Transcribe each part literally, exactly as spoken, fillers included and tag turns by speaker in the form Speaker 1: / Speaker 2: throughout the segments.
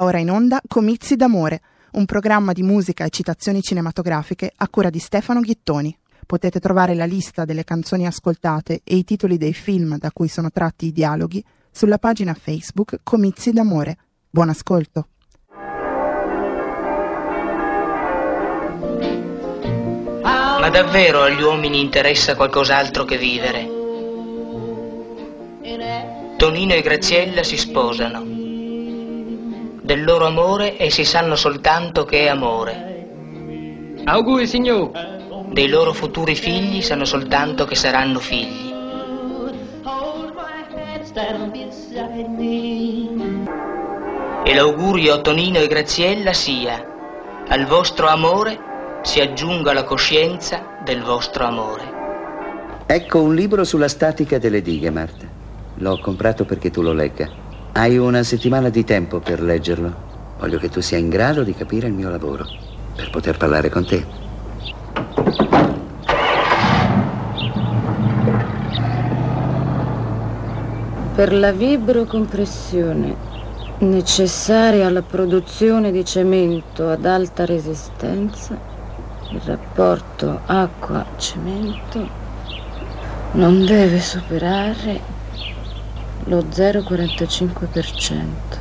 Speaker 1: Ora in onda Comizi d'amore, un programma di musica e citazioni cinematografiche a cura di Stefano Ghittoni. Potete trovare la lista delle canzoni ascoltate e i titoli dei film da cui sono tratti i dialoghi sulla pagina Facebook Comizi d'amore. Buon ascolto.
Speaker 2: Ma davvero agli uomini interessa qualcos'altro che vivere? Tonino e Graziella si sposano. Del loro amore essi sanno soltanto che è amore.
Speaker 3: Auguri, signor.
Speaker 2: Dei loro futuri figli sanno soltanto che saranno figli. E l'augurio a Tonino e Graziella sia: al vostro amore si aggiunga la coscienza del vostro amore.
Speaker 4: Ecco un libro sulla statica delle dighe, Marta. L'ho comprato perché tu lo legga. Hai una settimana di tempo per leggerlo. Voglio che tu sia in grado di capire il mio lavoro, per poter parlare con te.
Speaker 5: Per la vibrocompressione necessaria alla produzione di cemento ad alta resistenza, il rapporto acqua-cemento non deve superare lo zero virgola quarantacinque per cento.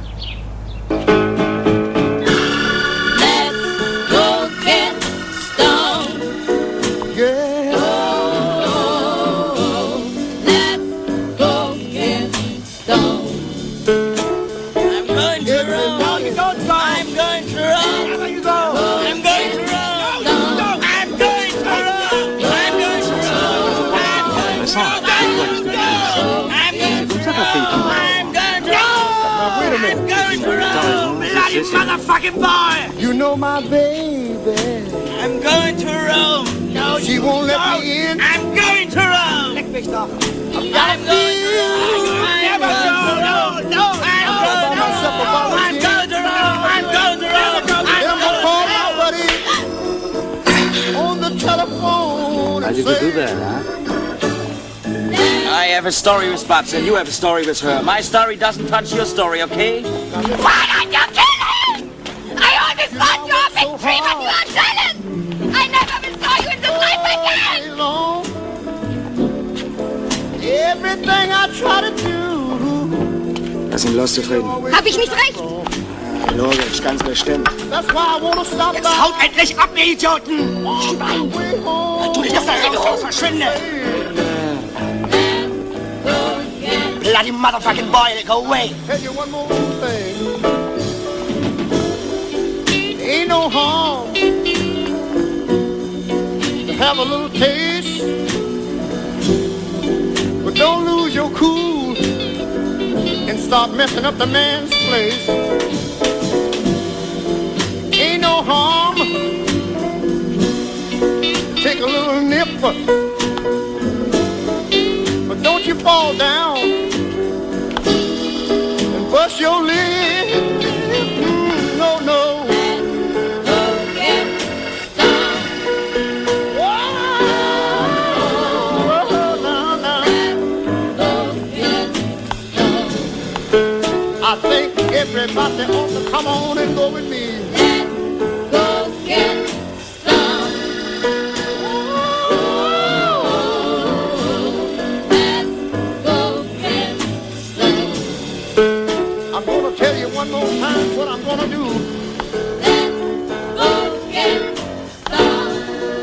Speaker 6: Motherfucking boy! You know my baby. I'm going to Rome. No, she won't let don't. me in. I'm going to Rome. Leck mich doch. I'm, I'm going to Rome. I'm never go. No, no. I'm going to Rome. I'm going to Rome. I'm going to Rome. I'm call my buddy on the telephone.
Speaker 4: How did you do that, huh?
Speaker 7: I have a story with Babs and you have a story with her. My story doesn't touch your story, okay?
Speaker 8: Why don't you kill him? I always thought you were a big tree, but you are jealous. I never will saw you in this life again.
Speaker 6: Everything I try to do.
Speaker 9: Lass ihn los, zufrieden.
Speaker 8: Hab ich nicht recht?
Speaker 9: Logisch, ganz bestimmt.
Speaker 6: That's why I wanna stop.
Speaker 7: Jetzt haut endlich ab, ihr Idioten! Schwein! Tu dich auf der Rede raus, verschwinde! Bloody motherfucking boy, go away!
Speaker 6: Tell you one more thing. Ain't no harm to have a little taste, but don't lose your cool and start messing up the man's place. Ain't no harm, take a little nip, but don't you fall down and bust your lip. Mm, no, no. I think everybody ought to come on and go with me.
Speaker 8: Let's go get some. Let's go get some.
Speaker 6: I'm gonna tell you one more time what I'm gonna do.
Speaker 8: Let's go get some.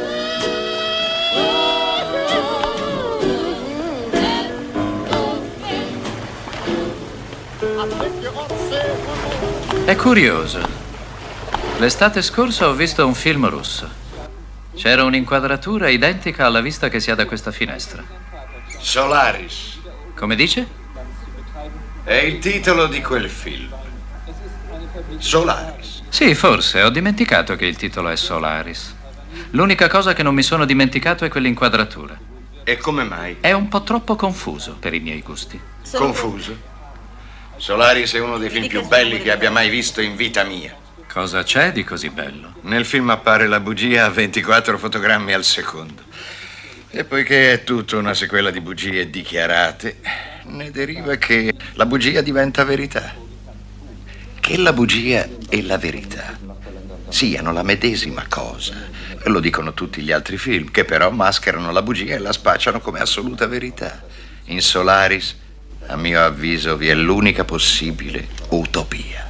Speaker 6: I think you ought to say it one more time.
Speaker 10: È curioso. L'estate scorsa ho visto un film russo. C'era un'inquadratura identica alla vista che si ha da questa finestra.
Speaker 11: Solaris.
Speaker 10: Come dice?
Speaker 11: È il titolo di quel film. Solaris.
Speaker 10: Sì, forse. Ho dimenticato che il titolo è Solaris. L'unica cosa che non mi sono dimenticato è quell'inquadratura.
Speaker 11: E come mai?
Speaker 10: È un po' troppo confuso per i miei gusti.
Speaker 11: Confuso? Solaris è uno dei film più belli che abbia mai visto in vita mia.
Speaker 10: Cosa c'è di così bello?
Speaker 11: Nel film appare la bugia a ventiquattro fotogrammi al secondo. E poiché è tutta una sequela di bugie dichiarate, ne deriva che la bugia diventa verità. che la bugia e la verità siano la medesima cosa. Lo dicono tutti gli altri film, che però mascherano la bugia e la spacciano come assoluta verità. In Solaris, a mio avviso, vi è l'unica possibile utopia.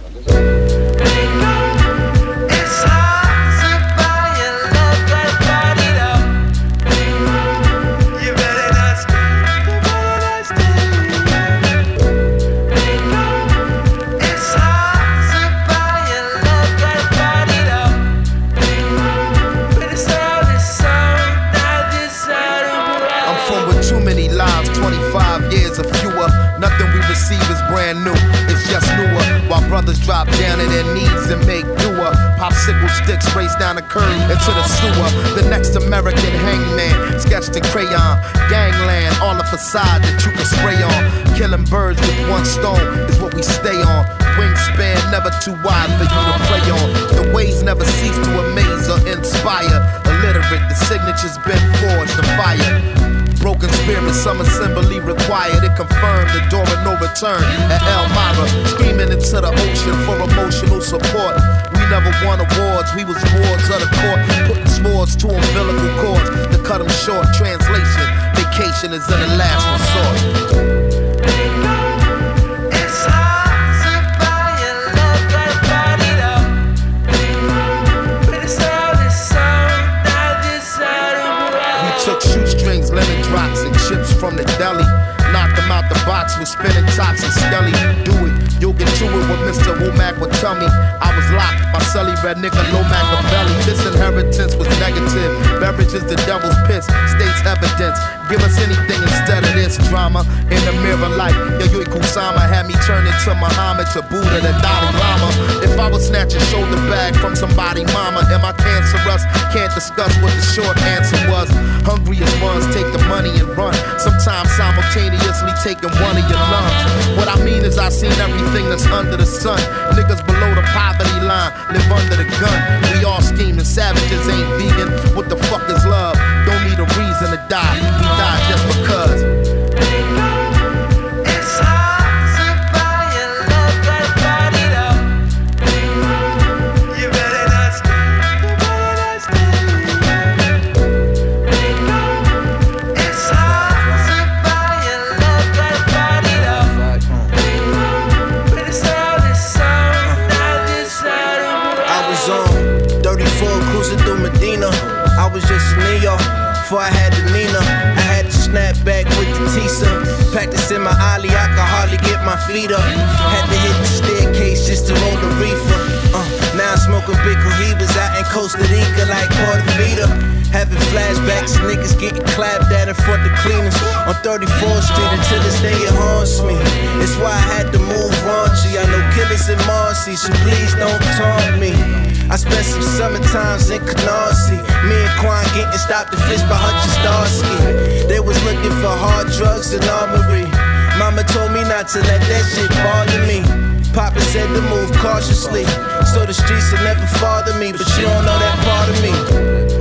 Speaker 3: Brand new, it's just newer. While brothers drop down to their knees and make doer. Popsicle sticks race down the curb into the sewer. The next American hangman, sketched in crayon. Gangland, all the facade that you can spray on. Killing birds with one stone is what we stay on. Wingspan never too wide for you to play on. The ways never cease to amaze or inspire. Illiterate, the signature's been forged in fire. Broken spirit, some assembly required. It confirmed the door of no return at Elmira. Screaming into the ocean for emotional support. We never won awards, we was wards of the court. Putting swords to umbilical cords to cut them short. Translation, vacation is in the last resort. Drops and chips from the deli. Knock them out the box with spinning tops and skelly. Do it, you'll get to it what Mister Womack would tell me. I was locked, my celly red nigga low Machiavelli. This inheritance was negative. Beverage is the devil's piss, states evidence. Give us anything instead of this drama. In the mirror like Yayoi Kusama had me turn into Muhammad to Buddha the Dalai Lama. If I was snatch a shoulder bag from somebody mama, am I cancerous? Can't discuss what the short answer was. Hungriest ones take the money and run. Sometimes simultaneously taking one of your lungs. What I mean is I seen everything that's under the sun. Niggas below the poverty line live under the gun. We all scheming, savages ain't vegan. What the fuck is love? Don't need a reason to die. We die just because. Before I had the Nina, I had to snap back with the Tisa. Practicing my ollie, I could hardly get my feet up. Had to hit the staircase just to roll the reefer. Uh, now I'm smoking big cohibas out in Costa Rica like Puerto Vita. Having flashbacks, niggas getting clapped at in front of cleaners on thirty-fourth Street until this day it haunts me. It's why I had to move raunchy. I know killers in Marcy, so please don't taunt me. I spent some summer times in Canarsie. Me and Quan getting stopped and fished by Hutch Starsky. They was looking for hard drugs and armory. Mama told me not to let that shit bother me. Papa said to move cautiously, so the streets will never bother me. But you don't know that part of me.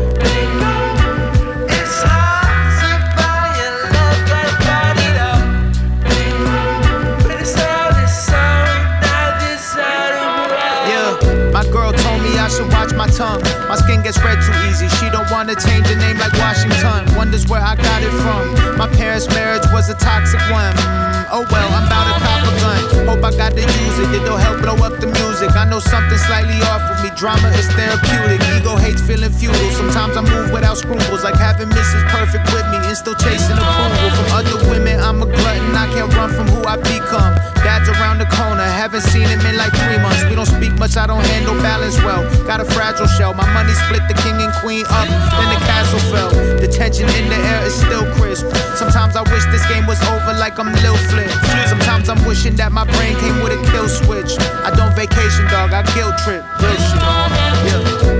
Speaker 3: Should watch my tongue. My skin gets red too easy. She don't wanna change her name like Washington. Wonders where I got it from. My parents' marriage was a toxic one. Mm, oh well, I'm bout to cop a gun. Hope I got to use it. It'll help blow up the music. I know something slightly off with me. Drama is therapeutic. Ego hates feeling futile. Sometimes I move without scruples, like having Missus Perfect with me and still chasing approval from other women. I'm a glutton. I can't run from who I become. Dad's around the corner. Haven't seen him in like three months. We don't speak much. I don't handle balance well. Got a fragile shell. My money split the king and queen up, then the castle fell. The tension in the air is still crisp. Sometimes I wish this game was over like I'm Lil Flip. Sometimes I'm wishing that my brain came with a kill switch. I don't vacation, dog. I guilt trip. Real shit. Yeah.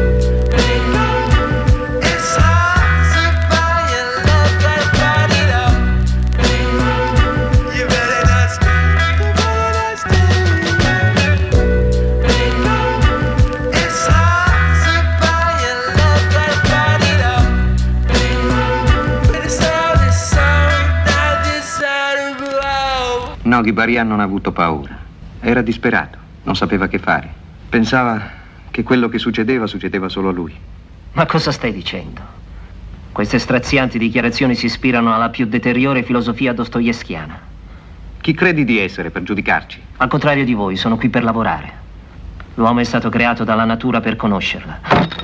Speaker 12: No, Ghibarian non ha avuto paura. Era disperato. Non sapeva che fare. Pensava che quello che succedeva succedeva solo a lui.
Speaker 13: Ma cosa stai dicendo? Queste strazianti dichiarazioni si ispirano alla più deteriore filosofia dostoevskiana.
Speaker 12: Chi credi di essere per giudicarci?
Speaker 13: Al contrario di voi, sono qui per lavorare. L'uomo è stato creato dalla natura per conoscerla.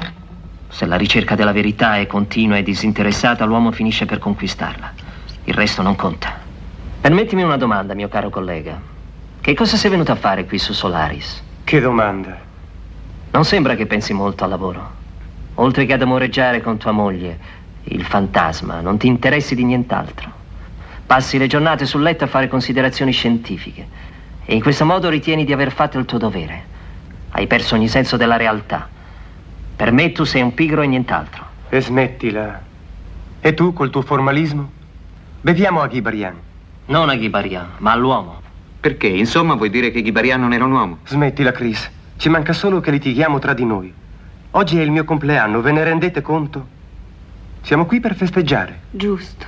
Speaker 13: Se la ricerca della verità è continua e disinteressata, l'uomo finisce per conquistarla. Il resto non conta. Permettimi una domanda, mio caro collega. Che cosa sei venuto a fare qui su Solaris?
Speaker 14: Che domanda?
Speaker 13: Non sembra che pensi molto al lavoro. Oltre che ad amoreggiare con tua moglie, il fantasma, non ti interessi di nient'altro. Passi le giornate sul letto a fare considerazioni scientifiche e in questo modo ritieni di aver fatto il tuo dovere. Hai perso ogni senso della realtà. Per me tu sei un pigro e nient'altro.
Speaker 14: E smettila. E tu col tuo formalismo? Beviamo a Ghibarian.
Speaker 13: Non a Ghibarian, ma all'uomo.
Speaker 12: Perché? Insomma, vuoi dire che Ghibarian non era un uomo?
Speaker 14: Smettila, Chris. Ci manca solo che litighiamo tra di noi. Oggi è il mio compleanno, ve ne rendete conto? Siamo qui per festeggiare.
Speaker 15: Giusto.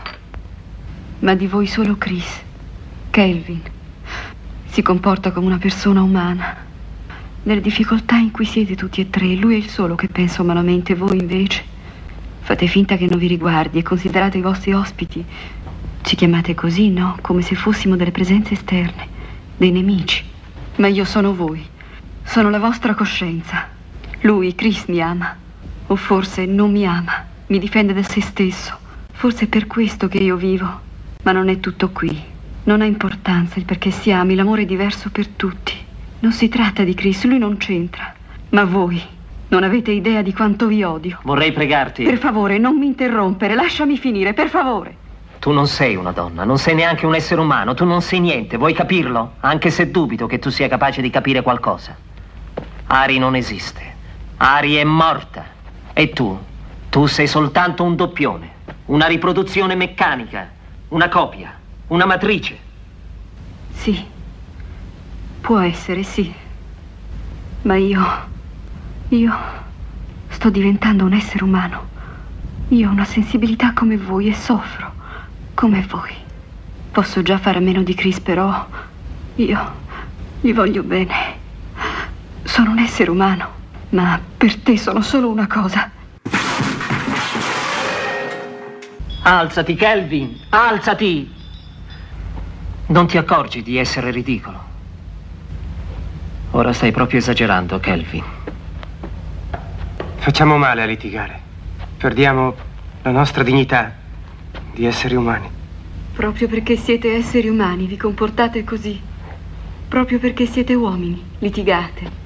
Speaker 15: Ma di voi solo Chris, Kelvin, si comporta come una persona umana. Nelle difficoltà in cui siete tutti e tre, lui è il solo che pensa umanamente, voi invece fate finta che non vi riguardi e considerate i vostri ospiti. Ci chiamate così, no? Come se fossimo delle presenze esterne, dei nemici. Ma io sono voi, sono la vostra coscienza. Lui, Chris, mi ama. O forse non mi ama, mi difende da se stesso. Forse è per questo che io vivo. Ma non è tutto qui. Non ha importanza il perché si ami, l'amore è diverso per tutti. Non si tratta di Chris, lui non c'entra. Ma voi non avete idea di quanto vi odio.
Speaker 13: Vorrei pregarti.
Speaker 15: Per favore, non mi interrompere, lasciami finire, per favore.
Speaker 13: Tu non sei una donna, non sei neanche un essere umano, tu non sei niente, vuoi capirlo? Anche se dubito che tu sia capace di capire qualcosa. Ari non esiste. Ari è morta. E tu? Tu sei soltanto un doppione, una riproduzione meccanica, una copia, una matrice.
Speaker 15: Sì. Può essere, sì. Ma io... Io... sto diventando un essere umano. Io ho una sensibilità come voi e soffro come voi. Posso già fare a meno di Chris, però... Io... gli voglio bene. Sono un essere umano. Ma per te sono solo una cosa.
Speaker 13: Alzati, Kelvin! Alzati! Non ti accorgi di essere ridicolo? Ora stai proprio esagerando, Kelvin.
Speaker 14: Facciamo male a litigare. Perdiamo la nostra dignità di esseri umani.
Speaker 15: Proprio perché siete esseri umani vi comportate così. Proprio perché siete uomini litigate.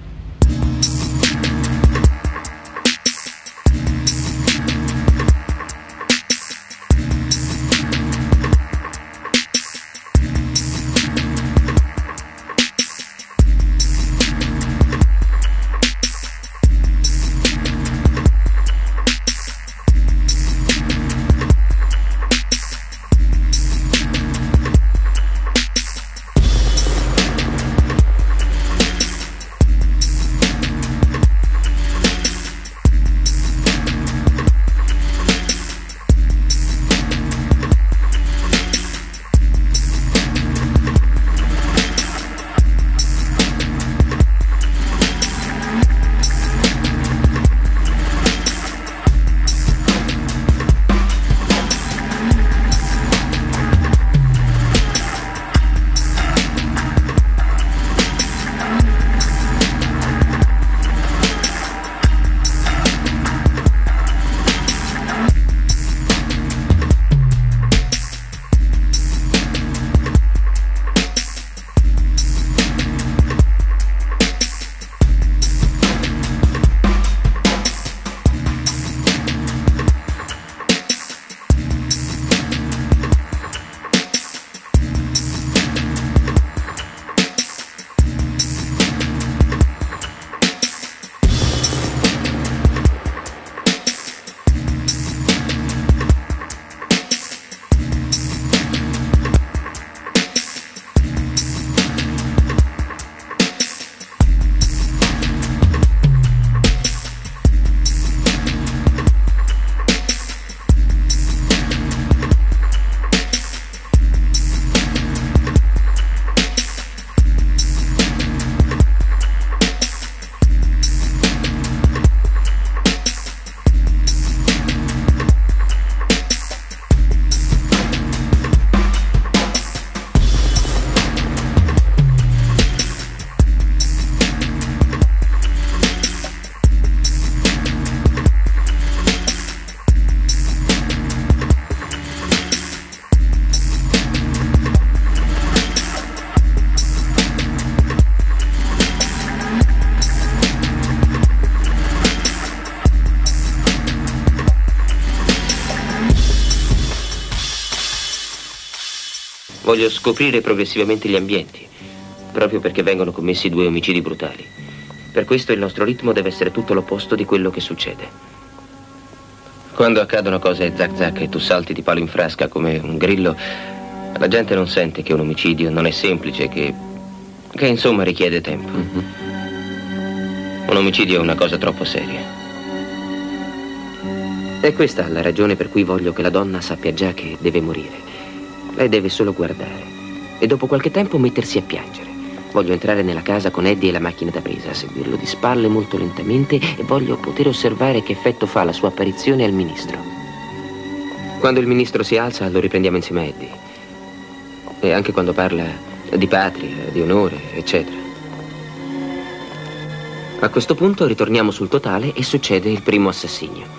Speaker 16: Voglio scoprire progressivamente gli ambienti, proprio perché vengono commessi due omicidi brutali. Per questo il nostro ritmo deve essere tutto l'opposto di quello che succede. Quando accadono cose zac zac e tu salti di palo in frasca come un grillo, la gente non sente che un omicidio non è semplice, che, che insomma richiede tempo. Mm-hmm. Un omicidio è una cosa troppo seria. È questa la ragione per cui voglio che la donna sappia già che deve morire. Lei deve solo guardare e dopo qualche tempo mettersi a piangere. Voglio entrare nella casa con Eddie e la macchina da presa, seguirlo di spalle molto lentamente e voglio poter osservare che effetto fa la sua apparizione al ministro. Quando il ministro si alza lo riprendiamo insieme a Eddie. E anche quando parla di patria, di onore, eccetera. A questo punto ritorniamo sul totale e succede il primo assassinio.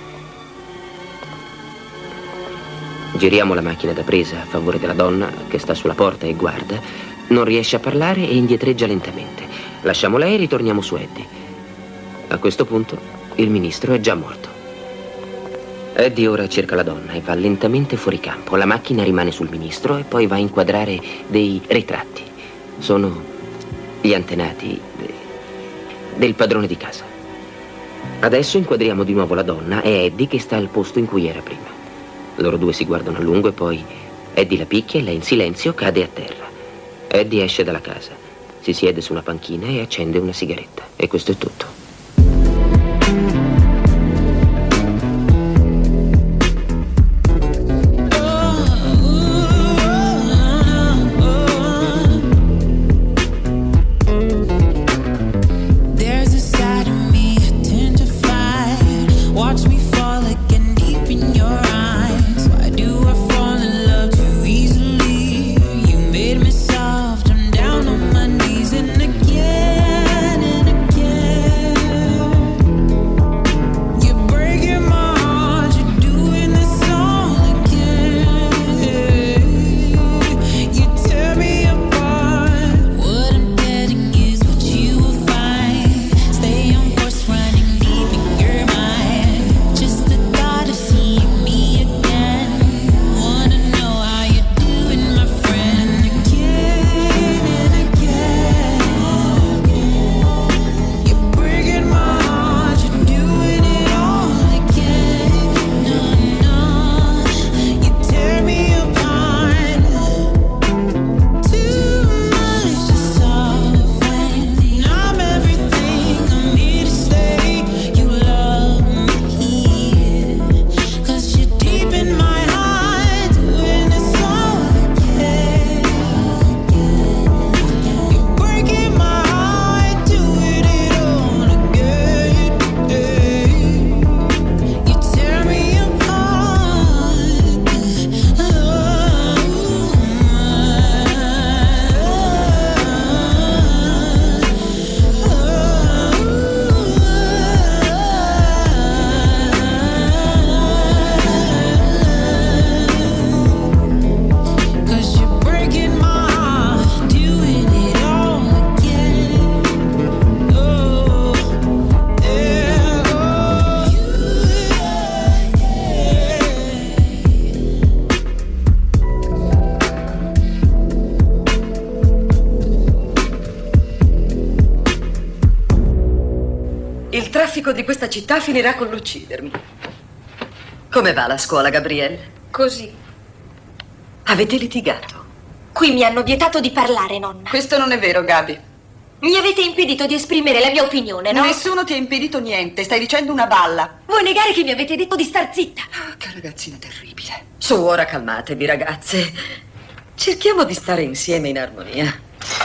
Speaker 16: Giriamo la macchina da presa a favore della donna che sta sulla porta e guarda. Non riesce a parlare e indietreggia lentamente. Lasciamo lei e ritorniamo su Eddie. A questo punto il ministro è già morto. Eddie ora cerca la donna e va lentamente fuori campo. La macchina rimane sul ministro e poi va a inquadrare dei ritratti. Sono gli antenati de... del padrone di casa. Adesso inquadriamo di nuovo la donna e Eddie che sta al posto in cui era prima. Loro due si guardano a lungo e poi Eddie la picchia e lei in silenzio cade a terra. Eddie esce dalla casa, si siede su una panchina e accende una sigaretta. E questo è tutto.
Speaker 17: Di questa città finirà con l'uccidermi. Come va la scuola, Gabriele?
Speaker 8: Così.
Speaker 17: Avete litigato?
Speaker 8: Qui mi hanno vietato di parlare, nonna.
Speaker 17: Questo non è vero, Gabi.
Speaker 8: Mi avete impedito di esprimere la mia opinione, no?
Speaker 17: Nessuno ti ha impedito niente, stai dicendo una balla.
Speaker 8: Vuoi negare che mi avete detto di star zitta?
Speaker 17: Oh, che ragazzina terribile. Su, ora calmatevi, ragazze. Cerchiamo di stare insieme in armonia.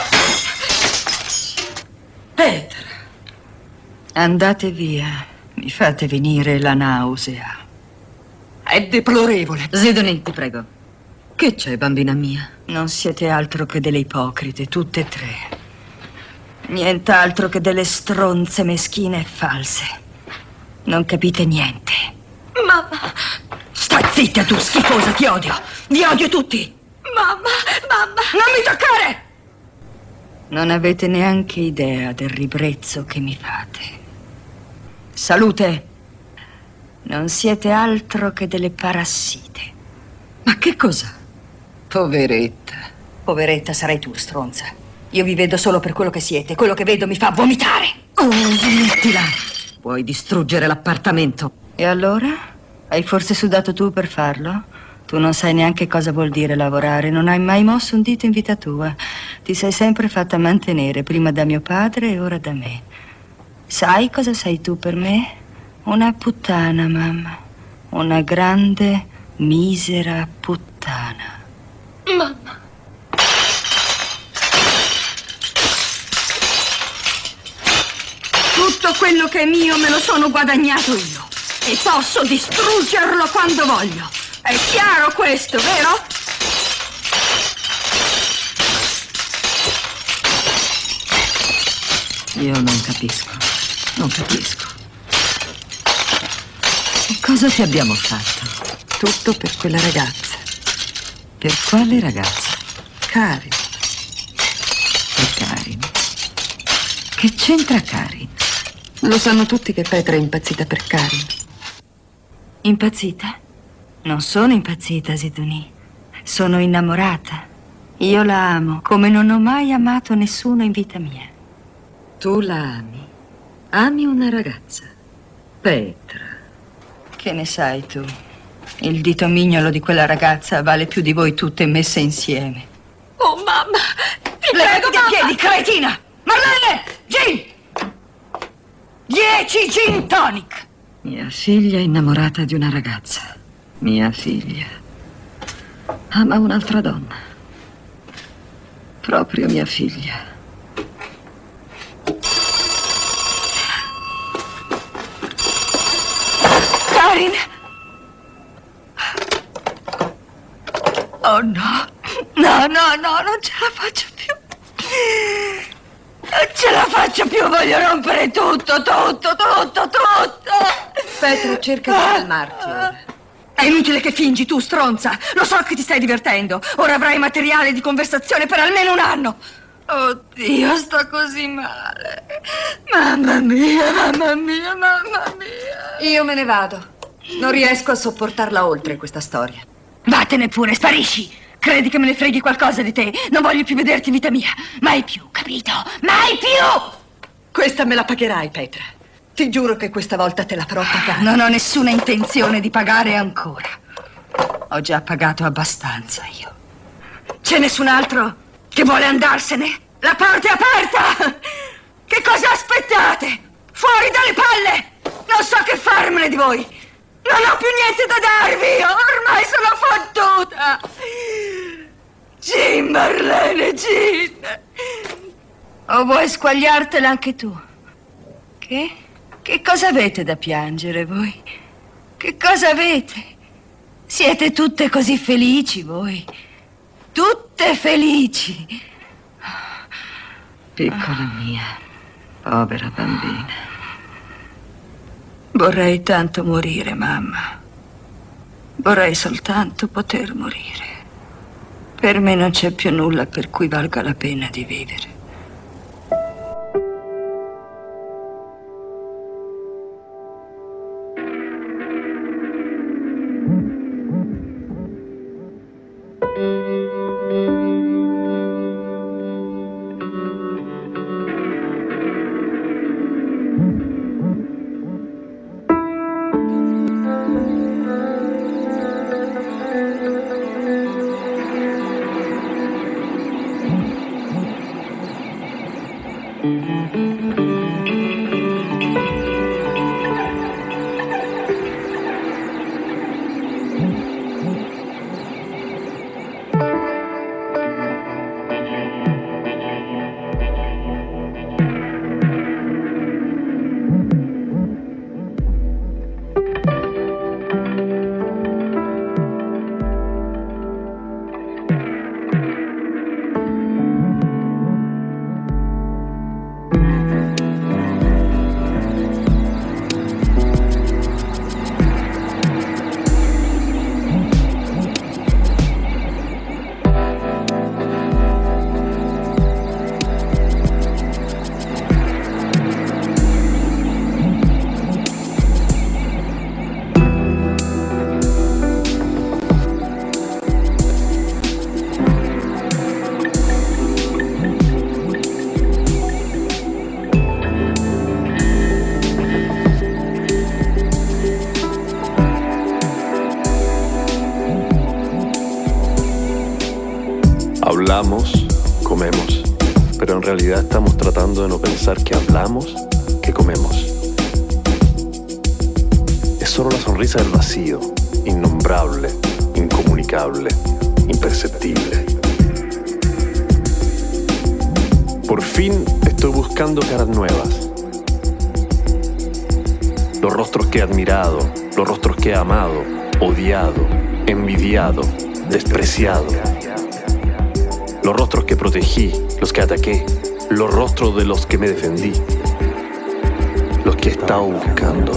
Speaker 17: Petra. Andate via, mi fate venire la nausea. È deplorevole. Sidonie, ti prego. Che c'è, bambina mia? Non siete altro che delle ipocrite, tutte e tre. Nient'altro che delle stronze meschine e false. Non capite niente.
Speaker 8: Mamma!
Speaker 17: Stai zitta, tu schifosa, ti odio! Vi odio tutti!
Speaker 8: Mamma, mamma!
Speaker 17: Non mi toccare! Non avete neanche idea del ribrezzo che mi fate. Salute! Non siete altro che delle parassite. Ma che cosa? Poveretta. Poveretta, sarai tu, stronza. Io vi vedo solo per quello che siete. Quello che vedo mi fa vomitare. Oh, smettila. Puoi distruggere l'appartamento. E allora? Hai forse sudato tu per farlo? Tu non sai neanche cosa vuol dire lavorare. Non hai mai mosso un dito in vita tua. Ti sei sempre fatta mantenere, prima da mio padre e ora da me. Sai cosa sei tu per me? Una puttana, mamma. Una grande, misera puttana.
Speaker 8: Mamma.
Speaker 17: Tutto quello che è mio me lo sono guadagnato io. E posso distruggerlo quando voglio. È chiaro questo, vero? Io non capisco. Non capisco. Che cosa ti abbiamo fatto? Tutto per quella ragazza. Per quale ragazza? Karin. E Karin? Che c'entra Karin? Lo sanno tutti che Petra è impazzita per Karin. Impazzita? Non sono impazzita, Sidonie. Sono innamorata. Io la amo come non ho mai amato nessuno in vita mia. Tu la ami? Ami una ragazza? Petra. Che ne sai tu? Il dito mignolo di quella ragazza vale più di voi tutte messe insieme.
Speaker 8: Oh, mamma! Ti
Speaker 17: Levati
Speaker 8: prego,
Speaker 17: da
Speaker 8: mamma!
Speaker 17: piedi, cretina! Marlene! Gin! Dieci gin tonic! Mia figlia è innamorata di una ragazza. Mia figlia ama un'altra donna. Proprio mia figlia. Karin! Oh no! No, no, no, non ce la faccio più. Non ce la faccio più, voglio rompere tutto, tutto, tutto, tutto.
Speaker 5: Petra, cerca di calmarti ora.
Speaker 17: È inutile che fingi tu, stronza. Lo so che ti stai divertendo. Ora avrai materiale di conversazione per almeno un anno. Oddio, sto così male. Mamma mia, mamma mia, mamma mia.
Speaker 5: Io me ne vado. Non riesco a sopportarla oltre questa storia.
Speaker 17: Vattene pure, sparisci. Credi che me ne freghi qualcosa di te? Non voglio più vederti in vita mia. Mai più, capito? Mai più!
Speaker 5: Questa me la pagherai, Petra. Ti giuro che questa volta te la farò pagare.
Speaker 17: Non ho nessuna intenzione di pagare ancora. Ho già pagato abbastanza io. C'è nessun altro che vuole andarsene? La porta è aperta! Che cosa aspettate? Fuori dalle palle! Non so che farmene di voi! Non ho più niente da darvi! Ormai sono fottuta! Gin, Marlene, Gin! O vuoi squagliartela anche tu? Che? Che cosa avete da piangere voi? Che cosa avete? Siete tutte così felici voi? Tutte felici! Piccola mia, povera bambina. Vorrei tanto morire, mamma. Vorrei soltanto poter morire. Per me non c'è più nulla per cui valga la pena di vivere.
Speaker 18: Hablamos, comemos, pero en realidad estamos tratando de no pensar que hablamos, que comemos. Es solo la sonrisa del vacío, innombrable, incomunicable, imperceptible. Por fin estoy buscando caras nuevas. Los rostros que he admirado, los rostros que he amado, odiado, envidiado, despreciado. Los rostros que protegí, los que ataqué, los rostros de los que me defendí, los que he estado buscando.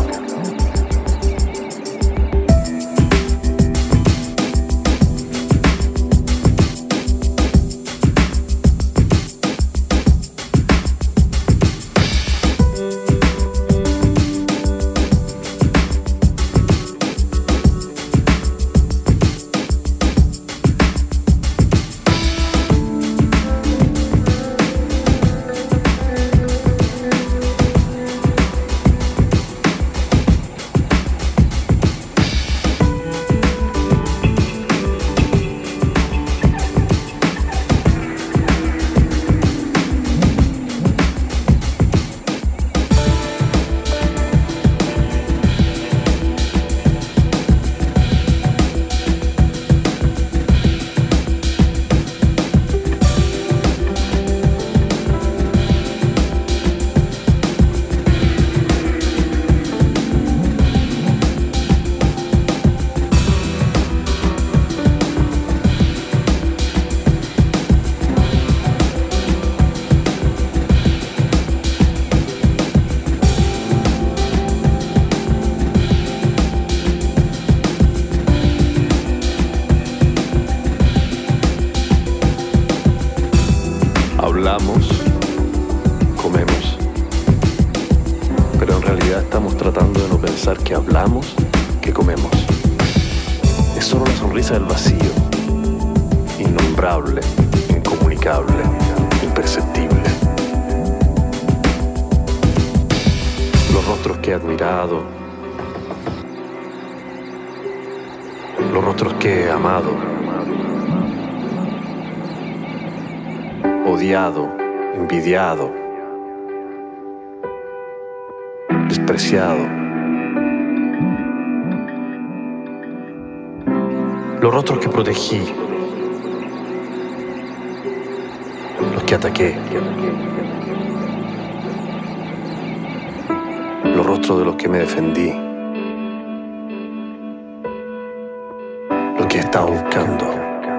Speaker 18: Hablamos, comemos, pero en realidad estamos tratando de no pensar que hablamos, que comemos. Es solo la sonrisa del vacío, innombrable, incomunicable, imperceptible. Los rostros que he admirado, los rostros que he amado, odiado, envidiado, despreciado. Los rostros que protegí, los que ataqué, los rostros de los que me defendí, los que he estado buscando.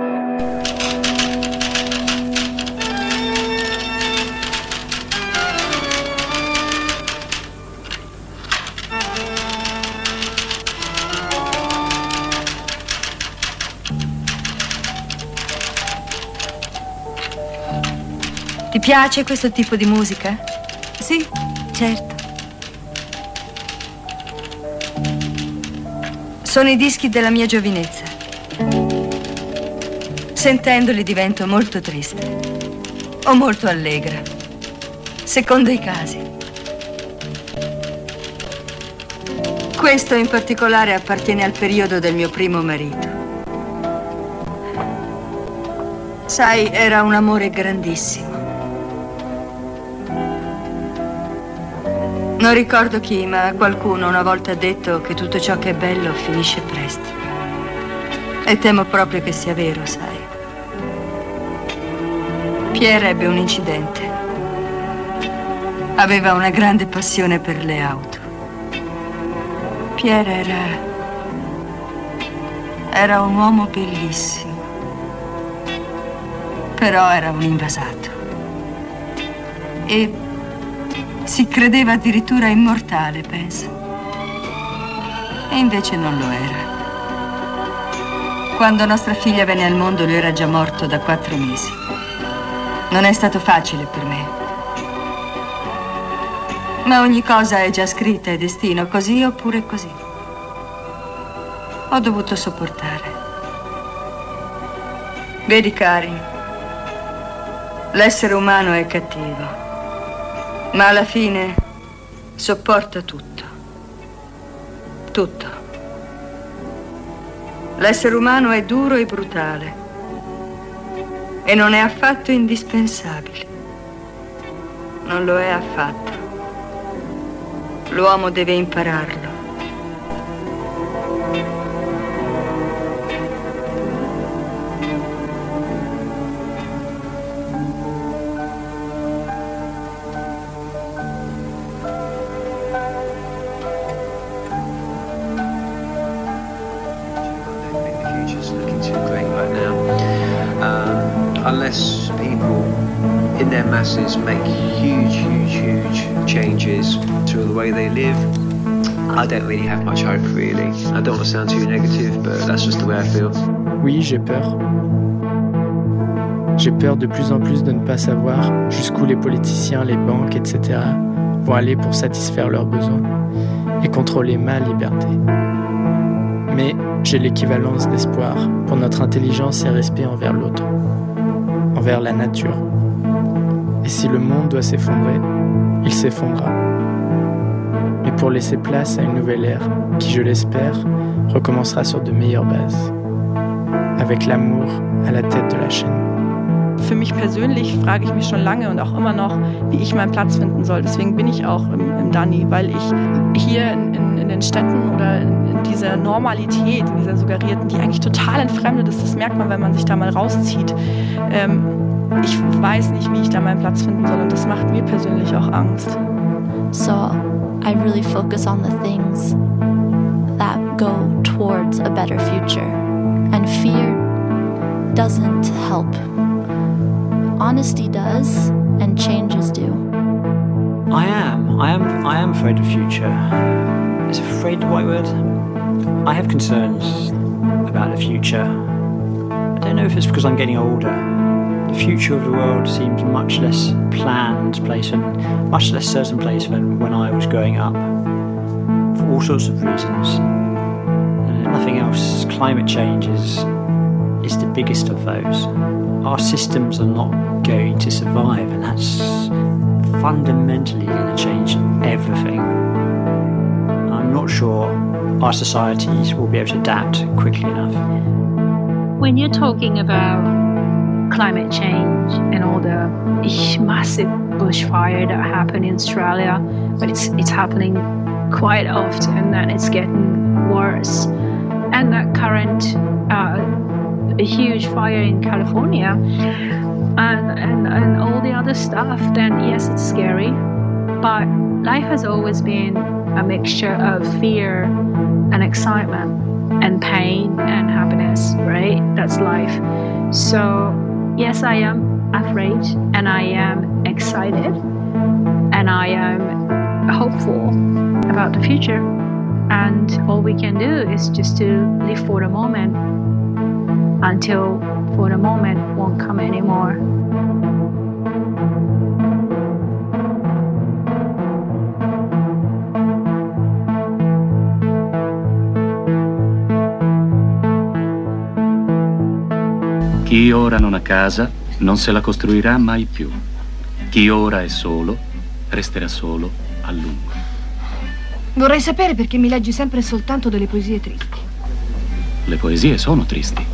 Speaker 17: Ti piace questo tipo di musica?
Speaker 15: Sì, certo.
Speaker 17: Sono i dischi della mia giovinezza. Sentendoli divento molto triste o molto allegra, secondo i casi. Questo in particolare appartiene al periodo del mio primo marito. Sai, era un amore grandissimo. Non ricordo chi, ma qualcuno una volta ha detto che tutto ciò che è bello finisce presto. E temo proprio che sia vero, sai. Pierre ebbe un incidente. Aveva una grande passione per le auto. Pierre era... era un uomo bellissimo. Però era un invasato. E... si credeva addirittura immortale, penso. E invece non lo era. Quando nostra figlia venne al mondo, lui era già morto da quattro mesi. Non è stato facile per me. Ma ogni cosa è già scritta, è destino, così oppure così. Ho dovuto sopportare. Vedi, Karin, l'essere umano è cattivo. Ma alla fine sopporta tutto. Tutto. L'essere umano è duro e brutale. E non è affatto indispensabile. Non lo è affatto. L'uomo deve impararlo.
Speaker 19: Unless people in their masses make huge, huge, huge changes to the way they live, I don't really have much hope, really. I don't want to sound too negative, but that's just the way I feel.
Speaker 20: Oui, j'ai peur. J'ai peur de plus en plus de ne pas savoir jusqu'où les politiciens, les banques, et cetera vont aller pour satisfaire leurs besoins et contrôler ma liberté. Mais j'ai l'équivalence d'espoir pour notre intelligence et respect envers l'autre, envers la nature. Et si le monde doit s'effondrer, il s'effondrera. Mais pour laisser place à une nouvelle ère qui, je l'espère, recommencera sur de meilleures bases, avec l'amour à la tête de la chaîne.
Speaker 21: Für mich persönlich frage ich mich schon lange und auch immer noch, wie ich meinen Platz finden soll. Deswegen bin ich auch im, im Dani, weil ich hier in, in, in den Städten oder in, in dieser Normalität, in dieser suggerierten, die eigentlich total entfremdet ist, das merkt man, wenn man sich da mal rauszieht. Ähm, ich weiß nicht, wie ich da meinen Platz finden soll und das macht mir persönlich auch Angst.
Speaker 22: So I really focus on the things that go towards a better future. And fear doesn't help. Honesty does, and changes do.
Speaker 23: I am. I am. I am afraid of the future. Is afraid the right word? I have concerns about the future. I don't know if it's because I'm getting older. The future of the world seems much less planned place and much less certain place than when I was growing up, for all sorts of reasons. Uh, nothing else. Climate change is is the biggest of those. Our systems are not going to survive, and that's fundamentally going to change everything. I'm not sure our societies will be able to adapt quickly enough.
Speaker 24: When you're talking about climate change and all the massive bushfire that happened in Australia, but it's it's happening quite often and it's getting worse, and that current uh, a huge fire in California and, and, and all the other stuff, then yes, it's scary. But life has always been a mixture of fear and excitement and pain and happiness, right? That's life. So yes, I am afraid and I am excited and I am hopeful about the future. And all we can do is just to live for the moment until for the moment won't come anymore.
Speaker 25: Chi ora non ha casa non se la costruirà mai più. Chi ora è solo resterà solo a lungo.
Speaker 26: Vorrei sapere perché mi leggi sempre e soltanto delle poesie tristi.
Speaker 25: Le poesie sono tristi.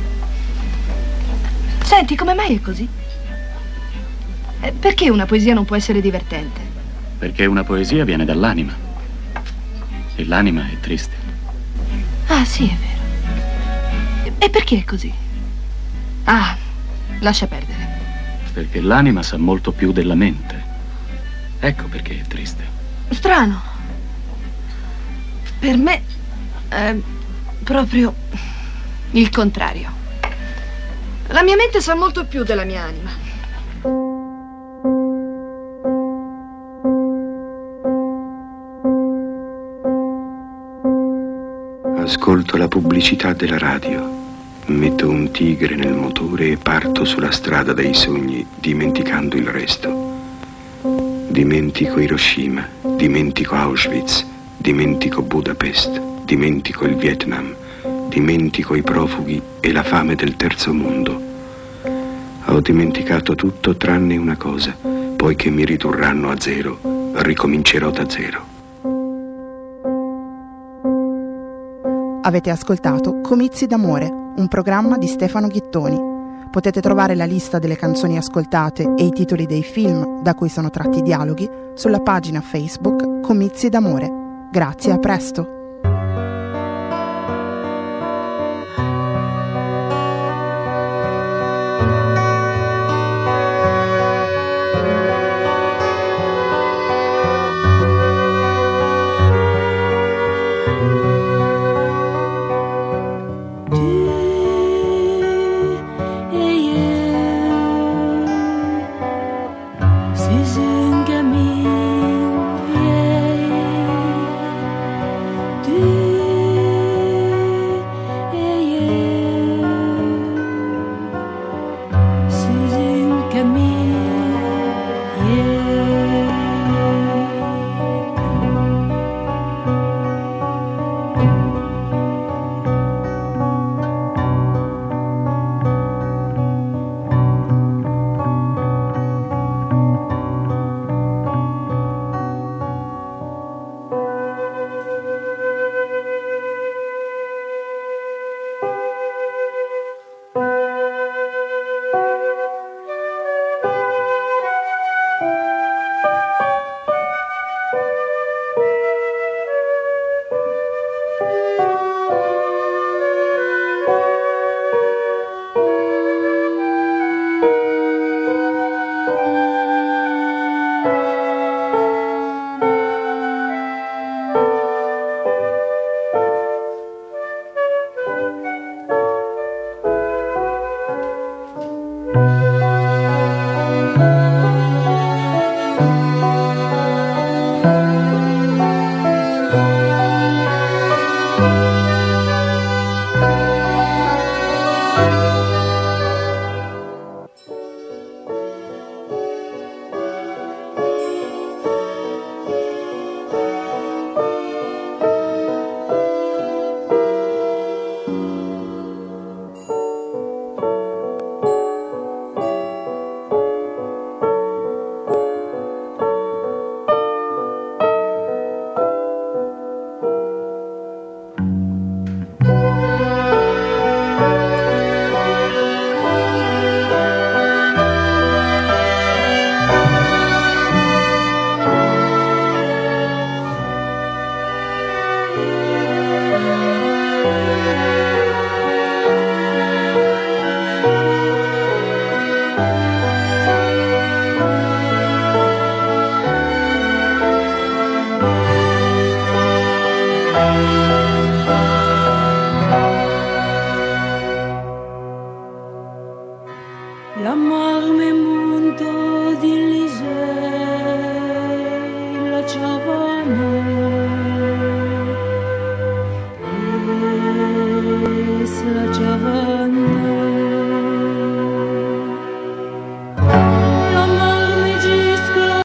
Speaker 26: Senti, come mai è così? Eh, perché una poesia non può essere divertente?
Speaker 25: Perché una poesia viene dall'anima. E l'anima è triste.
Speaker 26: Ah, sì, è vero. E perché è così? Ah, lascia perdere.
Speaker 25: Perché l'anima sa molto più della mente. Ecco perché è triste.
Speaker 26: Strano. Per me è proprio il contrario. La mia mente sa molto più della mia anima.
Speaker 27: Ascolto la pubblicità della radio. Metto un tigre nel motore e parto sulla strada dei sogni, dimenticando il resto. Dimentico Hiroshima, dimentico Auschwitz, dimentico Budapest, dimentico il Vietnam, dimentico i profughi e la fame del terzo mondo. Ho dimenticato tutto tranne una cosa, poiché mi ridurranno a zero, ricomincerò da zero.
Speaker 1: Avete ascoltato Comizi d'amore, un programma di Stefano Ghittoni. Potete trovare la lista delle canzoni ascoltate e i titoli dei film da cui sono tratti i dialoghi sulla pagina Facebook Comizi d'amore. Grazie, a presto!